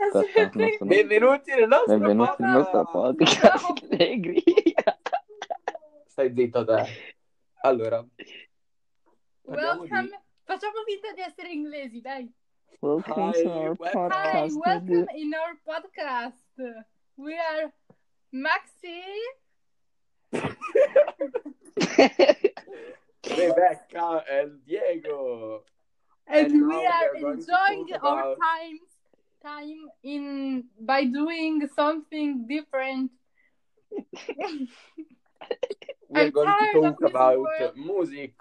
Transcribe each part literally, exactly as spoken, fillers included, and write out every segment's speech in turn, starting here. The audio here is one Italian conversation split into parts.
aspetta, non sono... Benvenuti nel nostro Benvenuti nel nostro podcast. Negri. Stai zitto te. Allora, parliamo Welcome. di... Facciamo finta di essere inglesi, dai. Welcome Hi, to our welcome. Hi, podcast. welcome in our podcast. We are Maxi. Rebecca and Diego. And, And we now are we are going to enjoying talk our about- time time in by doing something different. We are I'm going tired to of talk this about word. music.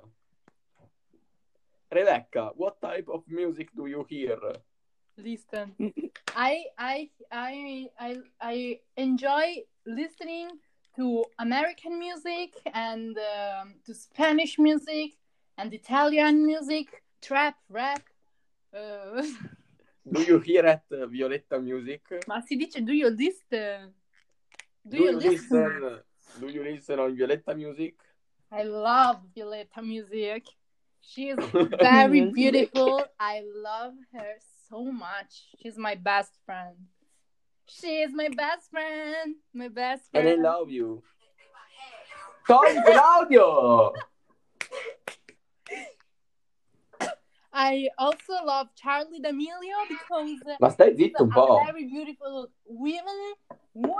Rebecca, what type of music do you hear? Listen, I I I I I enjoy listening to American music and um, to Spanish music and Italian music, trap, rap. Uh, Do you hear at uh, Violetta Music? ma si dice do you listen? Do you listen? Do you listen on Violetta Music? I love Violetta music. She is very Music. beautiful. I love her so much. She's my best friend. She is my best friend. My best And friend. I love you. Togli l'audio! I also love Charlie D'Amelio because Ma stai she's zitto un a po'. very beautiful woman. Woman.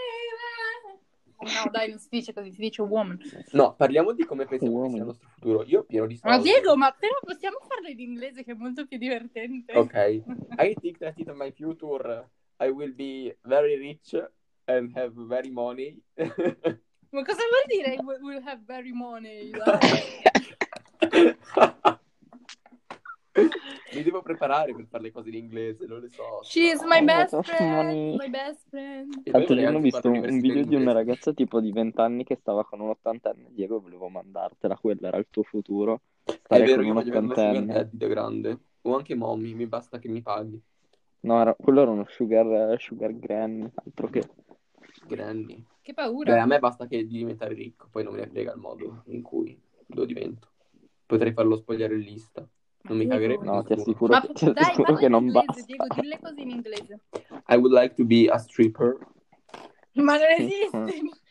No, dai, non si dice così, si dice woman. No, parliamo di come pensiamo che sia il Woman. nostro futuro. Io pieno di Ma soldi. Diego, ma però possiamo farlo in inglese che è molto più divertente. Ok. I think that in my future I will be very rich and have very money. Ma cosa vuol dire we- we'll have very money? Mi devo preparare per fare le cose in inglese, non le so. She is my Oh, best what friend. money. My best friend. E poi L'altro vorrei giorno ho anche visto fare un, un l'università video in di una inglese. ragazza tipo di venti anni che stava con un ottantenne. Diego, volevo mandartela, quello era il tuo futuro. È Stare vero, con io un voglio avere una sugar ottantenne. daddy da grande. O anche mommy, mi basta che mi paghi. No, era, quello era uno sugar, sugar granny, altro che... Granny. Che paura. Beh, a me basta che di diventare ricco, poi non me ne frega il modo in cui lo divento. Potrei farlo spogliarellista. Non mi Diego. cagherebbe No, ti nessuno. assicuro, Ma che, po- ti dai, assicuro parla che in non inglese, basta. Diego, dille così in inglese. I would like to be a stripper, Ma non esiste.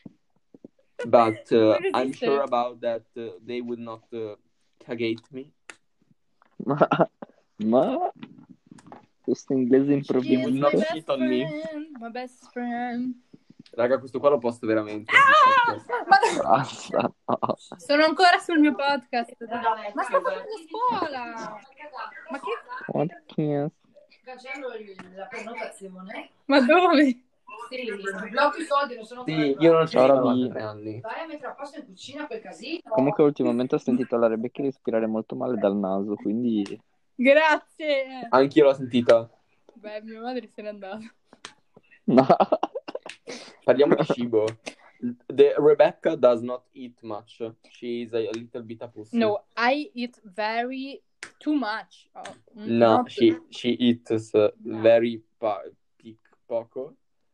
but uh, Non I'm esiste. sure about that uh, they would not uh, cagate me. Ma... Ma... Questo inglese She is my Not improvvisato. best shit on me. friend. My best friend. Raga, questo qua lo posto veramente. Ah! Ma Basta, no. sono ancora sul mio podcast. dai. Ma sto facendo scuola. Ma che... What kiss? Cancello il- la prenotazione. Ma dove? Sì, blocchi i soldi, non sono Sì, io non ci Ora sono vi- da tre anni. Vai a mettere a posto in cucina quel casino. Comunque ultimamente ho sentito la Rebecca respirare molto male dal naso, quindi... Grazie. Anch'io l'ho sentita. Beh, mia madre se n'è andata. No. Parliamo di cibo. The Rebecca does not eat much. She is a little bit a pussy. No, I eat very too much. Oh, mm, No, not- she she eats uh, very pa- pic- poco,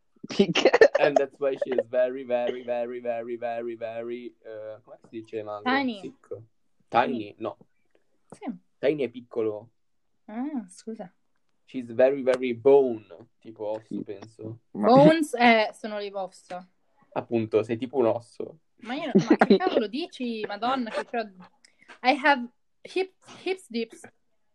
and that's why she is very very very very very very uh, come si dice magro? Tiny. Sick. Tiny, no. Sì. Tiny è piccolo. Ah, scusa. She's very very bone, tipo osso, Sì. penso. Ma... Bones eh, sono le ossa. Appunto, sei tipo un osso. Ma io, ma che cavolo dici, Madonna, che c'ho... I have hip, hips dips.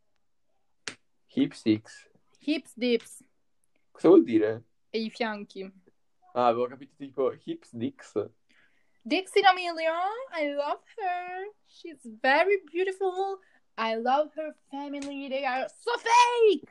Hip six. Hips dips. Cosa vuol dire? E i fianchi. Ah, avevo capito tipo hips dicks. Dixie D'Amelio, I love her. She's very beautiful. I love her family. They are so fake.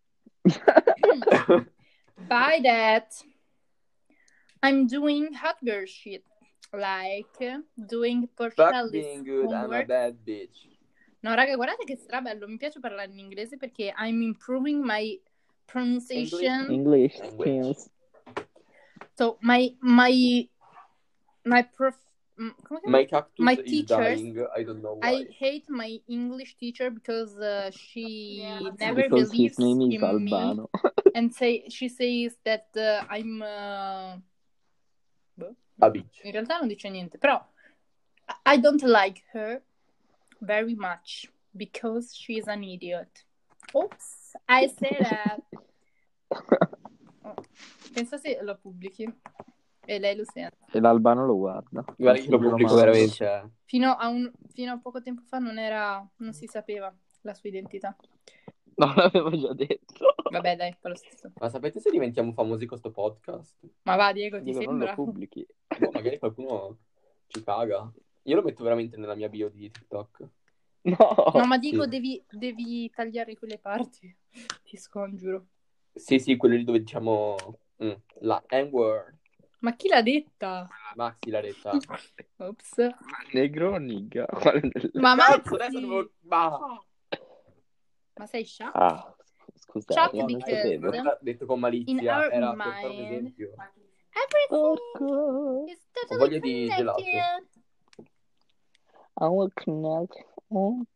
By that, I'm doing hot girl shit. Like doing Fuck Porcelli's being good, I'm a homework. bad bitch. No, raga, guardate che strabello. Mi piace parlare in inglese perché I'm improving my pronunciation. English Language. skills. So my my my prof. mm, come si chiama? My cactus My is teachers, dying. I don't know why. I hate my English teacher because uh, she Yeah, never Because believes his name is in me Albano. and say she says that uh, I'm. Uh... boh, A bitch. In realtà non dice niente, però I don't like her very much because she's an idiot. Oops, I say that. Pensa se lo pubblichi e lei lo sente. E l'Albano lo guarda. Guarda che lo pubblico mando. veramente. Fino a, un, fino a poco tempo fa non era, non si sapeva la sua identità. No, l'avevo già detto. Vabbè, dai, fa lo stesso. Ma sapete se diventiamo famosi con sto podcast? Ma va, Diego, ti Dico, non sembra? lo pubblichi. Boh, magari qualcuno ci paga. Io lo metto veramente nella mia bio di TikTok. No. No, ma dico, Sì. devi, devi tagliare quelle parti. Ti scongiuro. Sì, sì, quello lì dove diciamo mm, la N-word. Ma chi l'ha detta? Maxi l'ha detta. Ops. Negro o nigga? Quale delle- Ma Cazzo, Maxi! adesso devo... Ma... Ma sei scià? Ah, scusate, Ciao, non because- sapevo. Ha detto con In malizia, our era per fare un mind. esempio. Everything Porco. is Ho totally voglia di connected. gelato. I will connect. Oh.